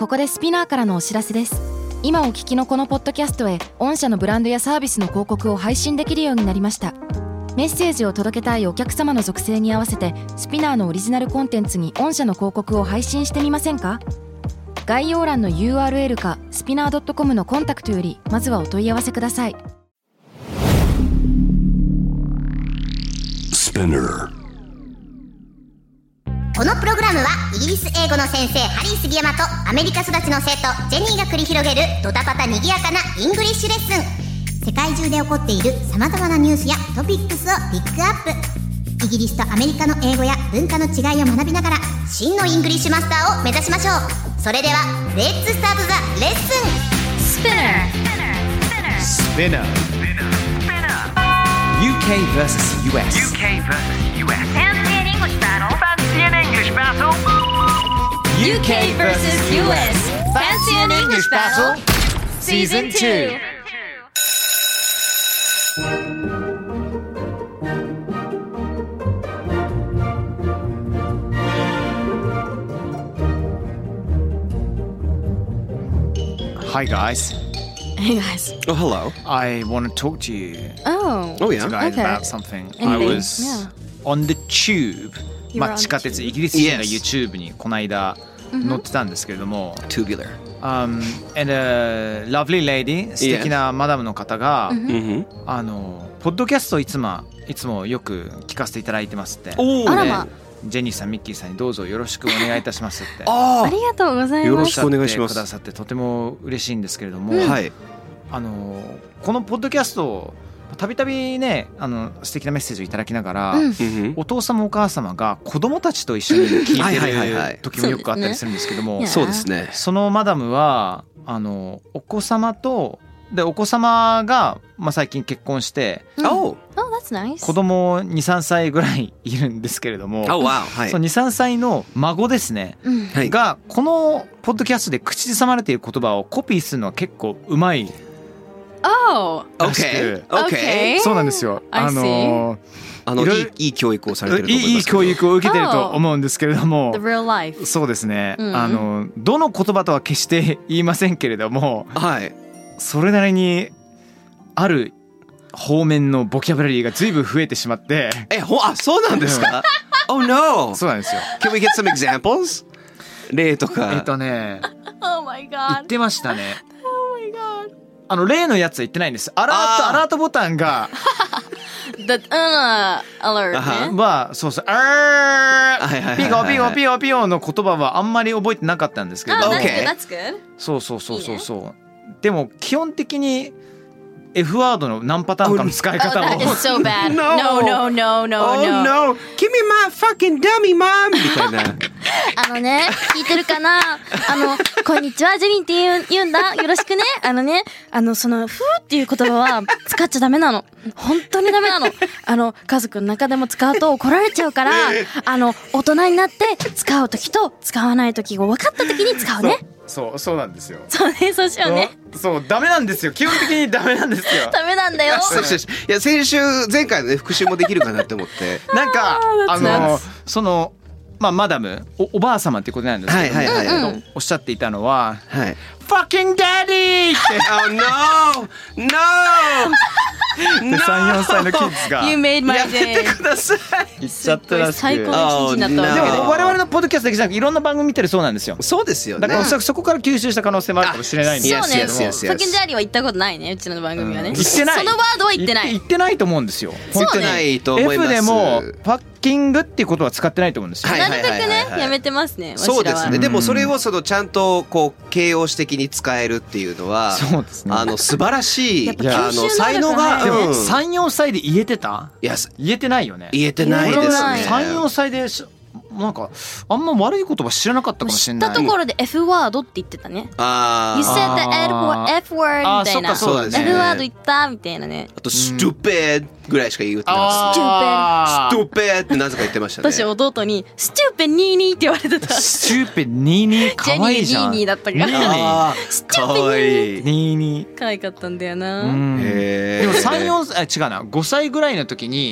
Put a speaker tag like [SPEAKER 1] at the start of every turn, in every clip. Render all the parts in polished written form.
[SPEAKER 1] ここでスピナーからのお知らせです。今お聞きのこのポッドキャストへ御社のブランドやサービスの広告を配信できるようになりました。メッセージを届けたいお客様の属性に合わせてスピナーのオリジナルコンテンツに御社の広告を配信してみませんか？概要欄の URL かスピナー .com のコンタクトよりまずはお問い合わせください。
[SPEAKER 2] このプログラムはイギリス英語の先生ハリー杉山とアメリカ育ちの生徒ジェニーが繰り広げるドタパタにぎやかなイングリッシュレッスン。世界中で起こっている様々なニュースやトピックスをピックアップ。イギリスとアメリカの英語や文化の違いを学びながら真のイングリッシュマスターを目指しましょう。それではレッツスタートザレッスン。
[SPEAKER 3] Spinner UK vs US
[SPEAKER 4] Fancy an English battle. Fancy an English battle.
[SPEAKER 1] UK vs US Fancy an English Battle
[SPEAKER 3] Season 2. Hi guys.
[SPEAKER 1] Hey guys.
[SPEAKER 5] Oh, hello.
[SPEAKER 3] I want to talk to you
[SPEAKER 1] Oh,
[SPEAKER 5] Oh, yeah.
[SPEAKER 3] guys
[SPEAKER 1] Okay.
[SPEAKER 3] about something.
[SPEAKER 1] Anything,
[SPEAKER 3] I was
[SPEAKER 1] yeah.
[SPEAKER 3] on the tube.
[SPEAKER 1] You were
[SPEAKER 3] ま
[SPEAKER 1] on
[SPEAKER 3] あ
[SPEAKER 1] the
[SPEAKER 3] 地下鉄
[SPEAKER 1] tube.
[SPEAKER 3] イギリス人が
[SPEAKER 5] Yes.
[SPEAKER 3] YouTube にこの間乗ってたんですけれども、
[SPEAKER 5] Tubular.
[SPEAKER 3] and a lovely lady 素敵なマダムの方が、
[SPEAKER 5] Mm-hmm.
[SPEAKER 3] ポッドキャストをいつもよく聞かせていただいてますって。
[SPEAKER 5] Oh,
[SPEAKER 1] あらま。
[SPEAKER 3] ジェニーさんミッキーさんにどうぞよろしくお願いいたしますって
[SPEAKER 5] oh.
[SPEAKER 1] ありがとうございます。
[SPEAKER 5] よろしくお願いします
[SPEAKER 3] おっしゃってくださってとても嬉しいんですけれども、
[SPEAKER 5] はい。
[SPEAKER 3] このポッドキャストをたびたびね素敵なメッセージをいただきながら、
[SPEAKER 5] Mm-hmm.
[SPEAKER 3] お父様お母様が子供たちと一緒に聞い
[SPEAKER 5] はいはいはい
[SPEAKER 3] て
[SPEAKER 5] はい
[SPEAKER 3] る時もよくあったりするんですけども、
[SPEAKER 5] そうですね。
[SPEAKER 3] そのマダムはお子様とでお子様が、最近結婚して、
[SPEAKER 5] Oh.
[SPEAKER 1] Oh, that's nice.
[SPEAKER 3] 子供 2,3 歳ぐらいいるんですけれども、
[SPEAKER 5] Oh, wow. はい
[SPEAKER 3] その 2,3 歳の孫ですね、
[SPEAKER 5] はい。
[SPEAKER 3] がこのポッドキャストで口ずさまれている言葉をコピーするのは結構うまい
[SPEAKER 1] Oh,
[SPEAKER 3] らしく、
[SPEAKER 5] Okay.
[SPEAKER 1] okay.
[SPEAKER 3] そうなんですよ。
[SPEAKER 1] I see.
[SPEAKER 5] い
[SPEAKER 3] いろいろ
[SPEAKER 5] いい教育をされてると思いますけど。
[SPEAKER 3] いい教育を受けてると思うんですけれども、
[SPEAKER 1] The real life.
[SPEAKER 3] そうですね、
[SPEAKER 1] うん
[SPEAKER 3] どの言葉とは決して言いませんけれども、
[SPEAKER 5] はい。
[SPEAKER 3] それなりにある方面のボキャブラリーが随分増えてしまって、
[SPEAKER 5] そうなんですか？ Oh no.
[SPEAKER 3] そうなんですよ。
[SPEAKER 5] Can we get some examples? 例とか。
[SPEAKER 1] Oh my
[SPEAKER 3] 言
[SPEAKER 1] god.
[SPEAKER 3] ってましたね。
[SPEAKER 1] Oh my god.
[SPEAKER 3] 例のやつは言ってないんです。アラートボタンが
[SPEAKER 1] The alert ね。
[SPEAKER 3] はそうそう、
[SPEAKER 5] はいはいはいはい
[SPEAKER 3] ピゴピゴピゴピゴの言葉はあんまり覚えてなかったんですけど、
[SPEAKER 1] Oh, that's
[SPEAKER 5] Okay.
[SPEAKER 1] good. That's good.
[SPEAKER 3] そうそうでも基本的に F ワードの何パターンかの使い
[SPEAKER 1] Oh,
[SPEAKER 3] 方を
[SPEAKER 1] that is so bad.
[SPEAKER 5] No.
[SPEAKER 1] No, no, no, no,
[SPEAKER 5] Oh
[SPEAKER 1] no.
[SPEAKER 5] no. Give me my fucking dummy, mom! みたいな。
[SPEAKER 1] 聞いてるかなこんにちは、ジェニーって言うんだ。よろしくね。その、ふーっていう言葉は使っちゃダメなの。本当にダメなの。家族の中でも使うと怒られちゃうから、大人になって使うときと使わないときを分かったときに使うね。
[SPEAKER 3] そうなんですよ。
[SPEAKER 1] そうね、そうしようね。
[SPEAKER 3] そうダメなんですよ。基本的にダメなんですよ。
[SPEAKER 1] ダメなんだよ。
[SPEAKER 5] いや先回のね復習もできるかなって思って。
[SPEAKER 3] なんか
[SPEAKER 1] that's
[SPEAKER 3] そのマダム おばあ様ってことなんですけど、
[SPEAKER 5] はいはいはい
[SPEAKER 3] おっしゃっていたのは
[SPEAKER 5] はい。
[SPEAKER 3] Fucking Daddy って
[SPEAKER 5] Oh no! No!
[SPEAKER 3] 3、4歳のキッズが
[SPEAKER 1] You made my
[SPEAKER 5] やめて
[SPEAKER 1] day.
[SPEAKER 5] ください。
[SPEAKER 3] 言っちゃったらしく、
[SPEAKER 1] 最高の一日になった
[SPEAKER 3] で
[SPEAKER 1] わけで。
[SPEAKER 3] も我々のポッドキャストだけじゃなくいろんな番組見てるそうなんですよ。
[SPEAKER 5] そうですよね。
[SPEAKER 3] だからおそらくそこから吸収した可能性もあるかもしれないんですけれども、
[SPEAKER 1] そうね。
[SPEAKER 5] Yes, yes, yes, yes.
[SPEAKER 1] ファキンジャーリーは言ったことないね。うちの番組はね。
[SPEAKER 3] 言ってない。
[SPEAKER 1] そのワードは言ってない。
[SPEAKER 3] 言ってないと思うんですよ。
[SPEAKER 1] そうね
[SPEAKER 3] 本当に
[SPEAKER 5] ないと思います。
[SPEAKER 3] F でもファッキングっていうことは使ってないと思うんですよ。
[SPEAKER 5] はい
[SPEAKER 1] なるべく
[SPEAKER 5] はいはい
[SPEAKER 1] ね
[SPEAKER 5] はい
[SPEAKER 1] やめてますね。
[SPEAKER 5] そうですね。
[SPEAKER 1] わしらは
[SPEAKER 5] でもそれをちゃんとこう形容詞的に使えるっていうのは、
[SPEAKER 3] そうですね。
[SPEAKER 5] 素晴らしい
[SPEAKER 1] やっぱ吸収能力
[SPEAKER 5] 才能が、
[SPEAKER 1] がね
[SPEAKER 3] でも
[SPEAKER 5] うん
[SPEAKER 3] 3、4歳で言えてた？
[SPEAKER 5] いや
[SPEAKER 3] 言えてないよね。
[SPEAKER 5] 言えてないですね。
[SPEAKER 3] 3、4歳でなんかあんま悪い言葉知らなかったかもし
[SPEAKER 1] 知っ
[SPEAKER 3] れない。
[SPEAKER 1] たところで F ワードって言ってたね。
[SPEAKER 5] あ
[SPEAKER 1] You
[SPEAKER 5] ー
[SPEAKER 1] said the F word みたいな。
[SPEAKER 3] そっかそうだね
[SPEAKER 1] F ワード言ったみたいなね。
[SPEAKER 5] あと stupid ぐらいしか言ってなか
[SPEAKER 3] あー
[SPEAKER 5] った。stupid ってなぜか言ってましたね。
[SPEAKER 1] 私弟にスチューペニーニーって言われてた。
[SPEAKER 3] スチューペニーニー可愛いじゃん。
[SPEAKER 1] ジェニーニーニーだったから
[SPEAKER 3] ニーニー
[SPEAKER 5] あーかわいい。
[SPEAKER 3] ニーニー。
[SPEAKER 1] 可愛かったんだよな。
[SPEAKER 3] うん
[SPEAKER 5] へー
[SPEAKER 3] でも3、4歳違うな5歳ぐらいの時に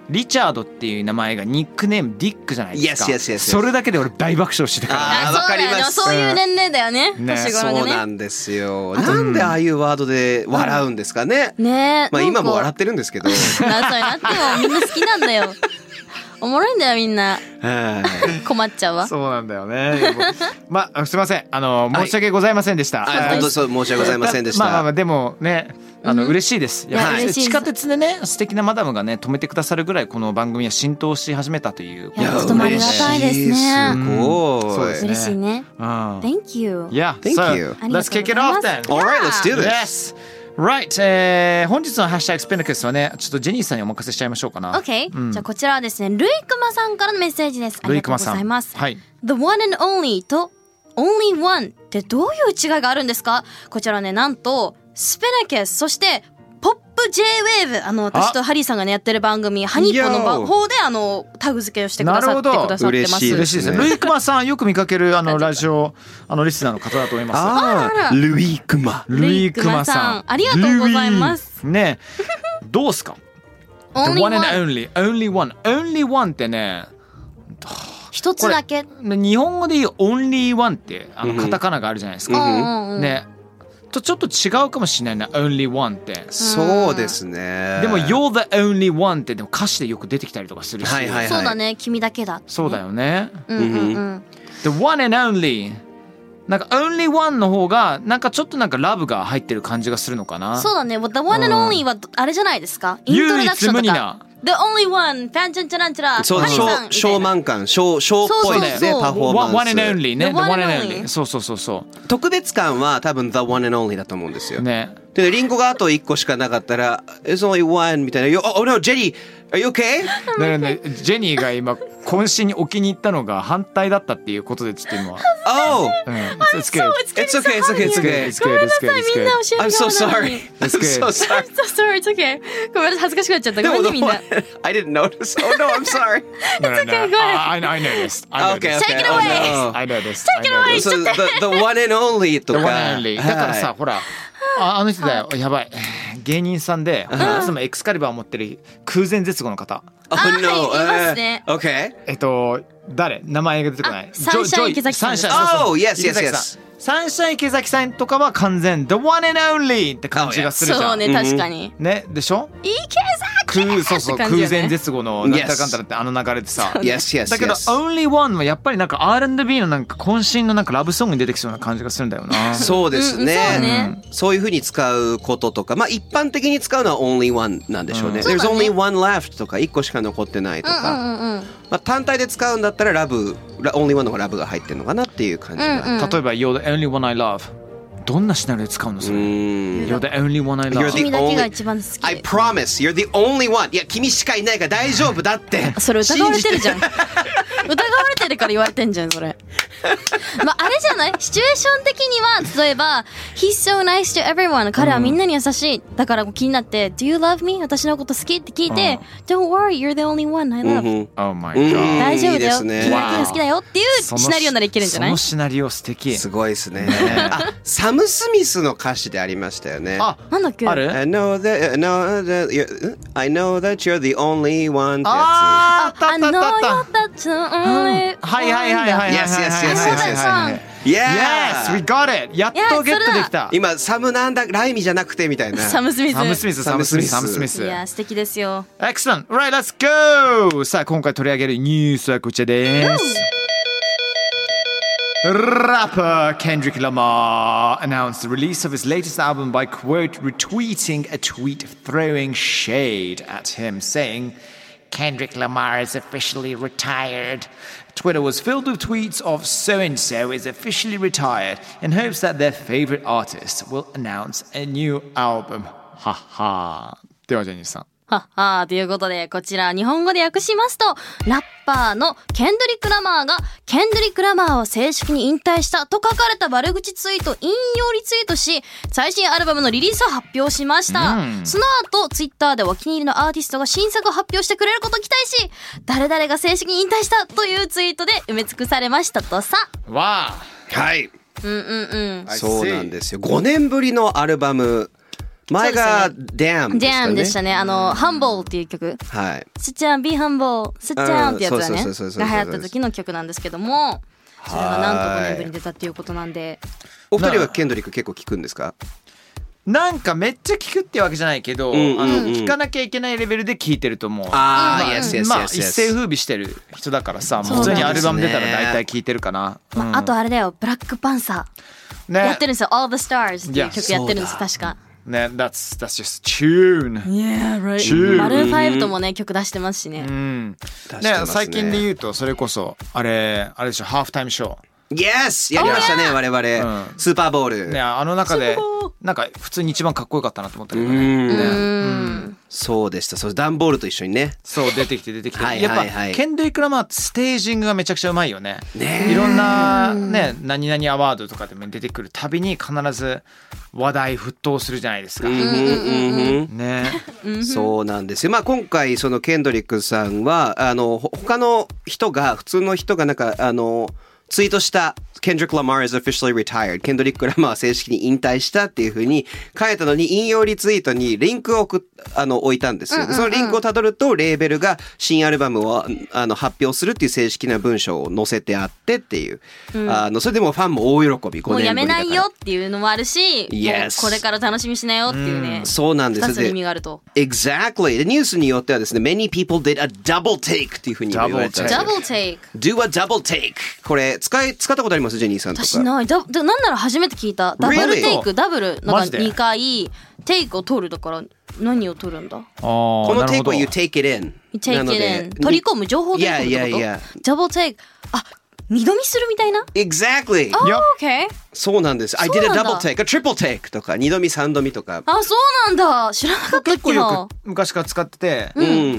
[SPEAKER 3] リチャードっていう名前がニックネームディックじゃないですか。
[SPEAKER 5] Yes.
[SPEAKER 3] それだけで俺大爆笑してたから。
[SPEAKER 5] わかります。
[SPEAKER 2] そういう年齢だよね。年頃でね。
[SPEAKER 5] そうなんですよ。なんでああいうワードで笑うんですかね。
[SPEAKER 2] ね。
[SPEAKER 5] まあ今も笑ってるんですけど。
[SPEAKER 2] なってもみんな好きなんだよ。おもろいんだよみんな。困っちゃうわ。
[SPEAKER 3] そうなんだよね。まあすいません。申し訳ございませんでした。
[SPEAKER 5] 本当そう申し訳ございませんでした。
[SPEAKER 3] まあでもね。嬉しいです。やはり地下鉄でね素敵なマダムがね止めてくださるぐらいこの番組は浸透し始めたという。
[SPEAKER 2] いやとてもありがたいですね。
[SPEAKER 5] すごい。
[SPEAKER 3] そうですね。
[SPEAKER 2] 嬉しいね。Thank you.
[SPEAKER 3] Yeah.
[SPEAKER 5] Thank you.
[SPEAKER 3] Let's kick it off then.
[SPEAKER 5] All right, let's do this.
[SPEAKER 3] Yes. Right. 本日のハッシュタグスペナクスはねちょっとジェニーさんにお任せしちゃいましょうかな。
[SPEAKER 2] OK。じゃあこちらはですねルイクマさんからのメッセージです。ありがとうございます。
[SPEAKER 3] はい。
[SPEAKER 2] The one and only と only one ってどういう違いがあるんですか？こちらねなんとスペナケスそしてポップ J-Wave 私とハリーさんがねやってる番組ハニーポの方でタグ付けをしてくださってくださってます。
[SPEAKER 3] 嬉しいですね。ルイクマさんよく見かけるラジオリスナーの方だと思います。
[SPEAKER 5] ルイクマ
[SPEAKER 2] さんありがとうございます。
[SPEAKER 3] ねどうすか？ The one and only one ってね
[SPEAKER 2] 一つだけ。
[SPEAKER 3] 日本語で言う only one ってカタカナがあるじゃないですか。ね。ちょっと違うかもしれないな only one って。
[SPEAKER 5] そうですね。
[SPEAKER 3] でも you're the only one ってでも歌詞でよく出てきたりとかするし。
[SPEAKER 2] そうだね君だけだ。
[SPEAKER 3] そうだよね。The one and only なんか only one の方がなんかちょっとなんかラブが入ってる感じがするのかな。
[SPEAKER 2] そうだね。The one and only はあれじゃないですか。イントロダクションとか。The only one パンチャンチャランチャラ。
[SPEAKER 5] そうショーマン感ショーっぽいねパフォーマンス。
[SPEAKER 3] One and only ね。The one and only。そう。
[SPEAKER 5] 特別感は多分 The one and only だと思うんですよ。
[SPEAKER 3] ね。
[SPEAKER 5] でリンゴがあと1個しかなかったら It's only one みたいな。Oh no ジェニー Are you okay？
[SPEAKER 3] ねジェニーが今渾身に置きに行ったのが反対だったっていうことでちょっと今。
[SPEAKER 5] Oh!
[SPEAKER 3] It's good.
[SPEAKER 5] It's okay. It's okay. It's okay.
[SPEAKER 2] It's good. ごめんなさいみんな教えて。
[SPEAKER 5] I'm so sorry.
[SPEAKER 3] It's good.
[SPEAKER 5] I'm so sorry.
[SPEAKER 2] I'm so sorry. It's okay. ごめんなさい恥ずかしくなっちゃった。ごめんねみんな。
[SPEAKER 5] I didn't notice. Oh no, I'm sorry.
[SPEAKER 3] No, okay,
[SPEAKER 2] go ahead.
[SPEAKER 3] I know this.
[SPEAKER 5] Okay.
[SPEAKER 2] Take it away.
[SPEAKER 3] I know this.
[SPEAKER 2] Take it away.
[SPEAKER 5] So the one and only とか。
[SPEAKER 3] The one and only. だからさほら。あの人だよやばい芸人さんでいつもエクスカリバーを持ってる空前絶後の方。
[SPEAKER 5] Oh no.
[SPEAKER 2] いますね。
[SPEAKER 5] Okay.
[SPEAKER 3] 誰名前が出てこない。
[SPEAKER 2] サンシャイン池崎さん。
[SPEAKER 5] Oh yes.
[SPEAKER 3] サンシャイン池崎さんとかは完全 The one and only って感じがするじゃん。
[SPEAKER 2] そうね確かに。
[SPEAKER 3] ねでしょ？
[SPEAKER 2] 池崎。
[SPEAKER 3] そう空前絶後のなんたらかんたらって流れでさ。
[SPEAKER 5] Yes.
[SPEAKER 3] だけど Only One はやっぱりなんか R&B のなんか渾身のなんかラブソングに出てきそうな感じがするんだよな。
[SPEAKER 5] そうですね。
[SPEAKER 2] そう
[SPEAKER 5] そういう風に使うこととか、まあ一般的に使うのは Only One なんでしょうね。There's only one left とか1個しか残ってないとか。まあ単体で使うんだったらOnly One の方がラブが入ってるのかなっていう感じが。
[SPEAKER 3] 例えば You're the only one I love。どんなシナリオで使うのそれ。You're the only one I love。
[SPEAKER 2] 君だけが一番好き。
[SPEAKER 5] I promise you're the only one。いや君しかいないから大丈夫だって。
[SPEAKER 2] それ疑われてるじゃん。疑われてるから言われてんじゃんそれ。まああれじゃない？シチュエーション的には例えば He's so nice to everyone。彼はみんなに優しい。だから気になって Do you love me？ 私のこと好きって聞いて Don't worry you're the only one I love。
[SPEAKER 3] Oh my god。
[SPEAKER 2] 大丈夫だよ。君だけが好きだよっていうシナリオならいけるんじゃない？
[SPEAKER 3] そのシナリオ素敵。
[SPEAKER 5] すごいですね。あサム・スミスの歌詞でありましたよね。
[SPEAKER 3] あ
[SPEAKER 2] なんだっけ？
[SPEAKER 3] ある？
[SPEAKER 5] I know that you're the only one ってやつ。
[SPEAKER 3] あったあったあった。はいはいはいはい。
[SPEAKER 5] Yes.
[SPEAKER 3] Yes, we got it. やっとゲットできた。
[SPEAKER 5] 今サムなんだライミじゃなくてみたいな。
[SPEAKER 2] サムスミ
[SPEAKER 3] ス。
[SPEAKER 2] いや素敵ですよ。
[SPEAKER 3] Excellent. Right, let's go. さあ今回取り上げるニュースはこちらです。Rapper Kendrick Lamar announced the release of his latest album by quote retweeting a tweet throwing shade at him, saying Kendrick Lamar is officially retired. Twitter was filled with tweets of so-and-so is officially retired in hopes that their favorite artist will announce a new album. はは。ではジェニーさん。
[SPEAKER 2] ははということでこちら日本語で訳しますとラッパーのケンドリック・ラマーがケンドリック・ラマーを正式に引退したと書かれた悪口ツイート引用リツイートし最新アルバムのリリースを発表しました、その後ツイッターでお気に入りのアーティストが新作を発表してくれることを期待し誰々が正式に引退したというツイートで埋め尽くされましたとさ。
[SPEAKER 3] わ
[SPEAKER 5] はい。
[SPEAKER 2] うんうんうん。
[SPEAKER 5] そうなんですよ。5年ぶりのアルバム前が Damn でしたね。
[SPEAKER 6] Damn でしたね。Humble っていう曲。
[SPEAKER 5] はい。
[SPEAKER 6] Sit down, be humble, sit down ってやつだね。
[SPEAKER 5] そう
[SPEAKER 6] が流行った時の曲なんですけども、それがなんと5年ぶりに出たっていうことなんで。
[SPEAKER 5] お二人はケンドリック結構聞くんですか？
[SPEAKER 3] なんかめっちゃ聞くってわけじゃないけど、聞かなきゃいけないレベルで聞いてると思う。
[SPEAKER 5] ああ、yes, yes, yes, yes.
[SPEAKER 3] まあ一世風靡してる人だからさ、普通にアルバム出たら大体聞いてるかな。
[SPEAKER 6] あとあれだよ、ブラックパンサーやってるんですよ。All the Stars っていう曲やってるんです確か。
[SPEAKER 3] ね、that's just tune.
[SPEAKER 6] Yeah, right. マルーン5ともね曲出してますしね。
[SPEAKER 3] ね、最近で言うとそれこそあれでしょ、ハーフタイムショー。
[SPEAKER 5] Yes! やりましたね、我々。スーパーボール。
[SPEAKER 3] ね、あの中でなんか普通に一番かっこよかったなと思ったけど
[SPEAKER 5] ね。そうでした。そう、ダンボールと一緒にね。
[SPEAKER 3] そう出てきてやっぱケンドリック・ラマーってステージングがめちゃくちゃうまいよね。いろんなね何々アワードとかでも出てくるたびに必ず話題沸騰するじゃないですか。ね。
[SPEAKER 5] そうなんですよ。まあ今回そのケンドリックさんは他の人が普通の人がなんかツイートしたKendrick Lamar is officially retired. ケンドリック・ラマーは正式に引退したっていう風に書いたのに、引用リツイートにリンクを置いたんですよ。そのリンクをたどると、レーベルが新アルバムを発表するっていう正式な文章を載せてあってっていう。それでもファンも大喜び。5年ぶりだから
[SPEAKER 6] もうやめないよっていうのもあるし、
[SPEAKER 5] yes.
[SPEAKER 6] もうこれから楽しみしなよっていうね。
[SPEAKER 5] そうなんです。
[SPEAKER 6] 2つの意味があると。
[SPEAKER 5] Exactly. でニュースによってはですね、many people did a double take っていう風に言われてる。
[SPEAKER 6] Double take.
[SPEAKER 5] Do a double take. これ使ったことありますジェニーさんとか？
[SPEAKER 6] 私ない。なんなら初めて聞いた。ダブルテイク、ダブルなんか2回テイクを取るだから何を取るんだ？
[SPEAKER 5] このテイクは you take it in。
[SPEAKER 6] You take it in。取り込む情報で取るってこと？ Double take。あ、二度見するみたいな？
[SPEAKER 5] Exactly。
[SPEAKER 6] Okay。
[SPEAKER 5] そうなんです。I did a double take, a triple take とか二度見三度見とか。
[SPEAKER 6] あ、そうなんだ。知らなかったっけな。
[SPEAKER 3] 結構よく昔から使ってて、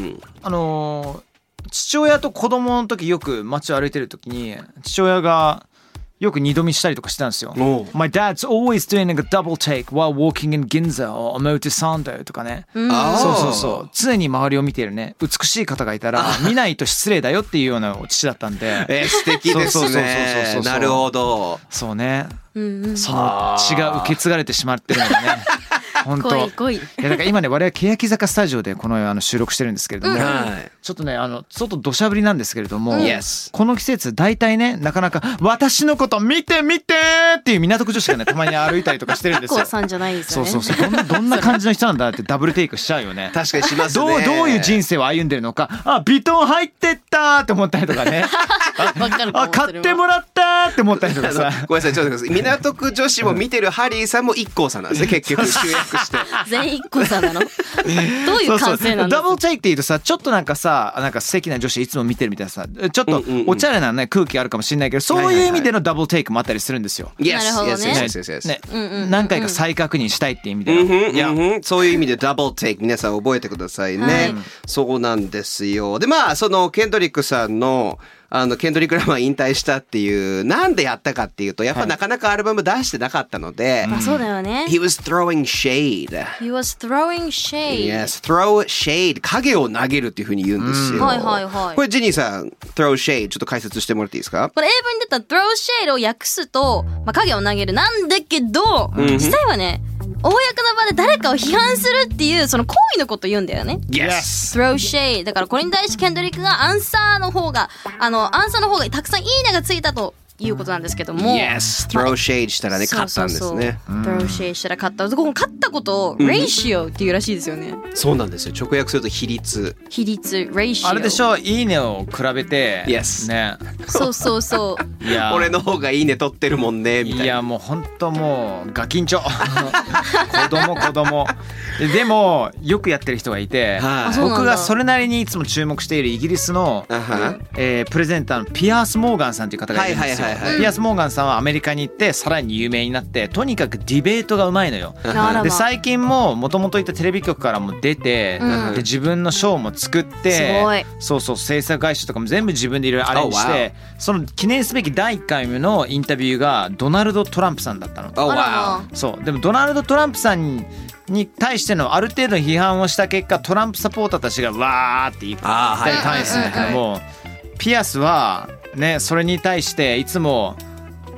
[SPEAKER 3] 父親と子供の時よく街を歩いてる時に父親がよく二度見したりとかしてたんですよ。My dad's always doing a double take while walking in Ginza or Omotesando とかね。そう常に周りを見ているね美しい方がいたら見ないと失礼だよっていうような父だったんで。
[SPEAKER 5] 素敵ですね。なるほど。
[SPEAKER 3] そうね。その血が受け継がれてしまってるのでね。本当。いやだから今ね我々欅坂スタジオでこの収録してるんですけれども、ちょっとね外土砂降りなんですけれども、この季節大体ねなかなか私のこと見てっていう港区女子がねたまに歩いたりとかしてるんですよ。
[SPEAKER 6] さんじゃないですよね。
[SPEAKER 3] そうどんな感じの人なんだってダブルテイクしちゃうよね。
[SPEAKER 5] 確かにしますね。
[SPEAKER 3] どういう人生を歩んでるのか、あビトン入ってったって思ったりとかね。あ買ってもらったって思ったりとかさ。
[SPEAKER 5] ごめんなさいちょっと待ってください。港区女子も見てるハリーさんもIKKOさんなんですね結局集約して。
[SPEAKER 6] 全員IKKOさんなの？どういう感性なんですか？
[SPEAKER 3] ダブルテイクって言うとさちょっとなんか素敵な女子いつも見てるみたいなさちょっとおちゃれなね空気あるかもしれないけどそういう意味でのダブルテイクもあったりするんですよ。
[SPEAKER 6] なるほどね。
[SPEAKER 3] 何回か再確認したいっていう意味で
[SPEAKER 5] そういう意味でダブルテイク皆さん覚えてくださいね。そうなんですよ。でまあそのケンドリックさんのケンドリック・ラマー引退したっていうなんでやったかっていうとやっぱなかなかアルバム出してなかったので、
[SPEAKER 6] まあそうだよね。
[SPEAKER 5] He was throwing shade.
[SPEAKER 6] He was throwing shade.
[SPEAKER 5] Yes, throw shade. 影を投げるっていう風に言うんですよ。これジェニーさん throw shade ちょっと解説してもらっていいですか？
[SPEAKER 6] これ英文に出た throw shade を訳すと、影を投げるなんだけど、実際はね公の場で誰かを批判するっていうその行為のことを言うんだよね。
[SPEAKER 5] Yes.
[SPEAKER 6] Throw shade だからこれに対してケンドリックがアンサーの方がたくさんいいねがついたということなんですけども、
[SPEAKER 5] Yes, throw shade したらね勝ったんですね。
[SPEAKER 6] Throw shade したら勝った。この勝ったことを ratio っていうらしいですよね。
[SPEAKER 5] そうなんですよ。直訳すると比率
[SPEAKER 6] ratio。
[SPEAKER 3] あれでしょ、いいねを比べて
[SPEAKER 5] Yes
[SPEAKER 3] ね。
[SPEAKER 6] そう
[SPEAKER 5] いや俺の方がいいね取ってるもんねみたいな。
[SPEAKER 3] いやもう本当もうガキンチョ子供でもよくやってる人がいて、僕がそれなりにいつも注目しているイギリスのプレゼンターのピアース・モーガンさんという方がいるんですよ。ピアース・モーガンさんはアメリカに行ってさらに有名になってとにかくディベートがうまいのよ。で最近ももともといたテレビ局からも出て、で自分のショーも作ってそう制作会社とかも全部自分でいろいろアレンジして、その記念すべき第1回目のインタビューがドナルド・トランプさんだったの。そうでもドナルド・トランプさんに対してのある程度の批判をした結果トランプサポーターたちがわーって言ったり対するんだけども、ピアスはねそれに対していつも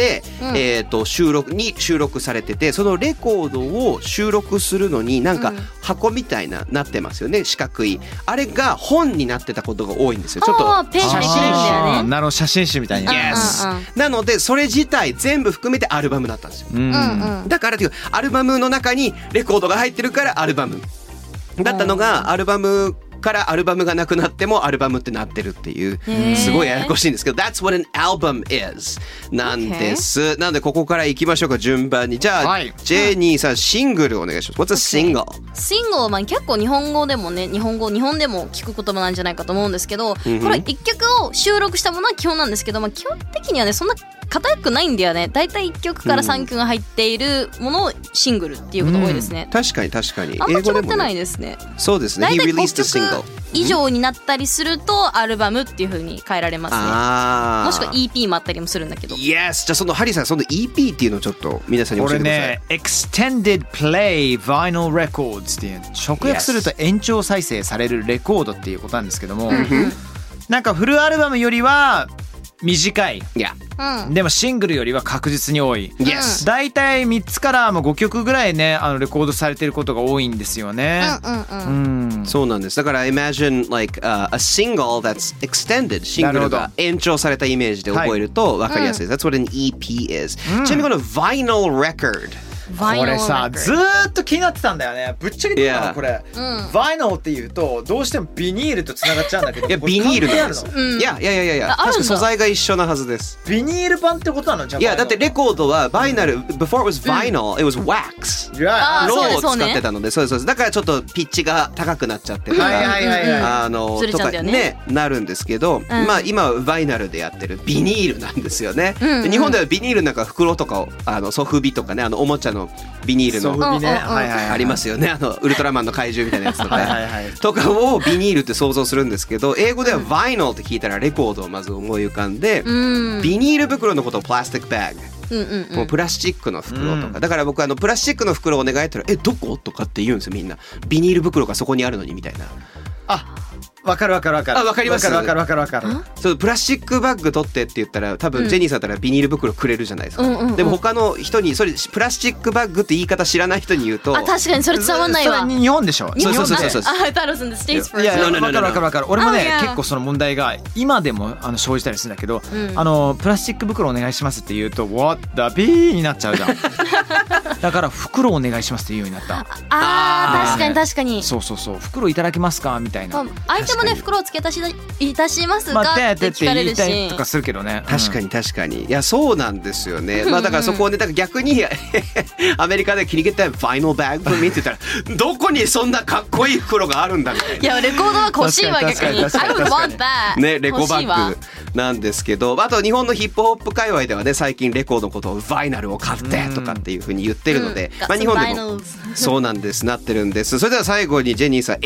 [SPEAKER 5] で、収録されてて、そのレコードを収録するのになんか箱みたいなってますよね、四角い。あれが本になってたことが多いんですよ。ちょっと
[SPEAKER 6] ペンでできるんだよね。
[SPEAKER 3] なるほど、写真集みたいな。
[SPEAKER 5] Yes。なのでそれ自体全部含めてアルバムだったんですよ。だからっていうアルバムの中にレコードが入ってるからアルバムだったのが、アルバムからアルバムがなくなってもアルバムってなってるっていう、すごいややこしいんですけど、 That's what an album is なんです。なのでここから行きましょうか、順番に。じゃあ、ジェニーさんシングルお願いします。 What's a single？
[SPEAKER 6] シングルは結構日本語でもね、日本でも聞く言葉なんじゃないかと思うんですけど、これ一曲を収録したものは基本なんですけど、基本的にはねそんな硬くないんだよね。だいたい1曲から3曲が入っているものをシングルっていうことが多いですね。
[SPEAKER 5] 確かに確かに。
[SPEAKER 6] あんま決まってないですね。
[SPEAKER 5] そうですね。
[SPEAKER 6] だいたい
[SPEAKER 5] He
[SPEAKER 6] 5
[SPEAKER 5] released a single
[SPEAKER 6] 曲以上になったりするとアルバムっていう風に変えられますね。もしくは EP もあったりもするんだけど。
[SPEAKER 5] Yes。 じゃあそのハリーさん、その EP っていうのをちょっと皆さんに教えてください。
[SPEAKER 3] これね、Extended Play Vinyl Records っていう、直訳すると延長再生されるレコードっていうことなんですけども、なんかフルアルバムよりは短い、でもシングルよりは確実に多い。だいたい3つから5曲ぐらいね、レコードされてることが多いんですよね。
[SPEAKER 5] そうなんです。だから imagine like a single that's extended、 シングルが延長されたイメージで覚えると分かりやすいです。That's what an EP is。ちなみにこの vinyl record、
[SPEAKER 3] これさずーっと気になってたんだよね。ぶっちゃけて言うのこれ、バイナルっていうとどうしてもビニールとつながっちゃうんだけど、
[SPEAKER 5] いやビニールなんです。いや確か素材が一緒なはずです。
[SPEAKER 3] ビニール版ってことなの？じゃあ
[SPEAKER 5] いやだってレコードはバイナル、before it was vinyl、it was wax、ローを使ってたので、そうですだからちょっとピッチが高くなっちゃってとかとかねなるんですけど、まあ今はバイナルでやってるビニールなんですよね。日本ではビニールなんか袋とかをソフビとかね、おもちゃのビニールのありますよね、ウルトラマンの怪獣みたいなやつとかとかをビニールって想像するんですけど、英語ではバイナルって聞いたらレコードをまず思い浮かんで、ビニール袋のことをプラスティックバッグ、もうプラスチックの袋とか、だから僕プラスチックの袋をお願いったらどこ？とかって言うんですよみんな。ビニール袋がそこにあるのにみたいな。
[SPEAKER 3] わかる。わかります。わかる。
[SPEAKER 5] そうプラスチックバッグ取ってって言ったら多分ジェニーさんだったらビニール袋くれるじゃないですか。でも他の人にそれプラスチックバッグって言い方知らない人に言うと、
[SPEAKER 6] 確かにそれ伝わんないわ。
[SPEAKER 3] それ日本でしょ。
[SPEAKER 5] そう。
[SPEAKER 6] I thought it was in the States first。
[SPEAKER 3] いやわかる。俺もね結構その問題が今でも生じたりするんだけど、プラスチック袋お願いしますって言うと What the B になっちゃうじゃん。だから袋お願いしますって言うようになった。
[SPEAKER 6] 確かに。
[SPEAKER 3] そう袋いただけますかみたいな。
[SPEAKER 6] 相手もね袋を付け足しいたしますかって聞かれるし、
[SPEAKER 3] とかするけどね。
[SPEAKER 5] 確かに。いやそうなんですよね。だからそこをね、だから逆にアメリカで切り切ったファイナルバッグ見てたらどこにそんなかっこいい袋があるんだみたいな。
[SPEAKER 6] いやレコードは欲しいわ逆に。I would want that。
[SPEAKER 5] ねレコバッグなんですけど、あと日本のヒップホップ界隈ではね最近レコードのことをバイナルを買ってとかっていう風に言ってるので、日本でもそうなんですなってるんです。それでは最後にジェニーさん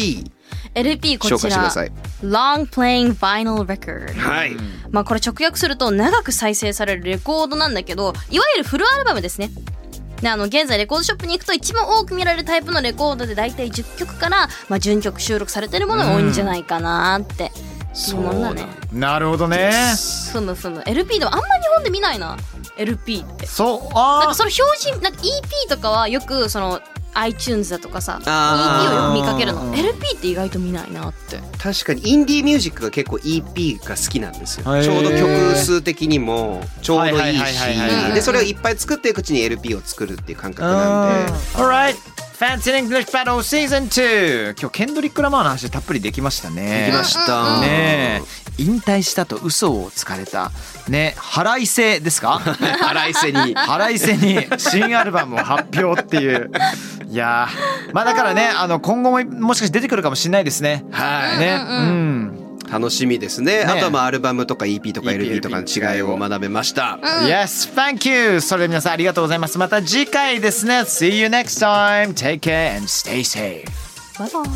[SPEAKER 5] LP
[SPEAKER 6] こちら Long Playing Vinyl Record、これ直訳すると長く再生されるレコードなんだけど、いわゆるフルアルバムですね。で現在レコードショップに行くと一番多く見られるタイプのレコードでだいたい10曲から、順曲収録されてるものが多いんじゃないかなっていうものだね。
[SPEAKER 3] なるほどね。
[SPEAKER 6] LP でもあんまり日本で見ないな LP って。なんかその表示なんか EP とかはよくそのiTunes だとかさ EP をよく見かけるの。 LP って意外と見ないなって。
[SPEAKER 5] 確かにインディーミュージックが結構 EP が好きなんですよ。ちょうど曲数的にもちょうどいいし、でそれをいっぱい作っていくうちに LP を作るっていう感覚なんで。
[SPEAKER 3] Alright Fancy English Battle Season 2。今日ケンドリック・ラマーの話たっぷりできましたね。
[SPEAKER 5] できました
[SPEAKER 3] ね。引退したと嘘をつかれたね、腹いせですか？
[SPEAKER 5] 腹いせに
[SPEAKER 3] 新アルバムを発表っていう。いやだからね今後ももしかして出てくるかもしれないですね。
[SPEAKER 5] 楽しみですね。あとはアルバムとか EP とか LP とかの違いを学べました。
[SPEAKER 3] Yes, thank you. それで皆さんありがとうございます。また次回ですね。See you next time. Take care and stay safe.
[SPEAKER 6] Bye bye.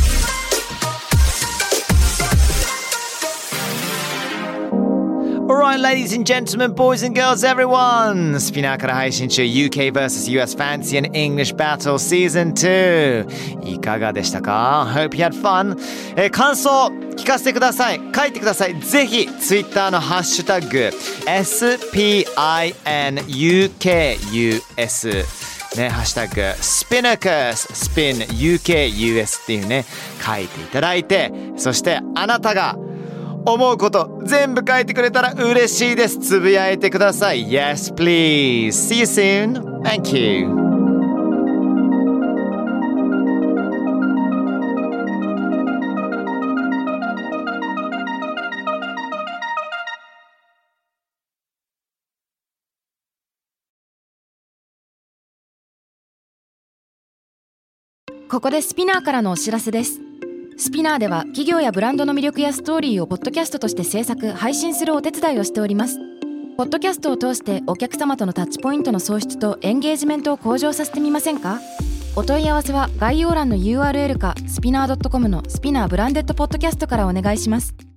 [SPEAKER 3] Alright, Alright, ladies and gentlemen, boys and girls, everyone! スピナーから配信中 UK vs US Fancy and English Battle Season 2いかがでしたか？ Hope you had fun、感想聞かせてください。書いてください。ぜひ Twitter のハッシュタグ SPINUKUS ね、ハッシュタグ SPINUKUS っていうね書いていただいて、そしてあなたが思うこと全部書いてくれたら嬉しいです。つぶやいてください。 Yes please. See you soon. Thank you.
[SPEAKER 1] ここでスピナーからのお知らせです。スピナーでは企業やブランドの魅力やストーリーをポッドキャストとして制作・配信するお手伝いをしております。ポッドキャストを通してお客様とのタッチポイントの創出とエンゲージメントを向上させてみませんか？お問い合わせは概要欄の URL かスピナー .com のスピナーブランデッドポッドキャストからお願いします。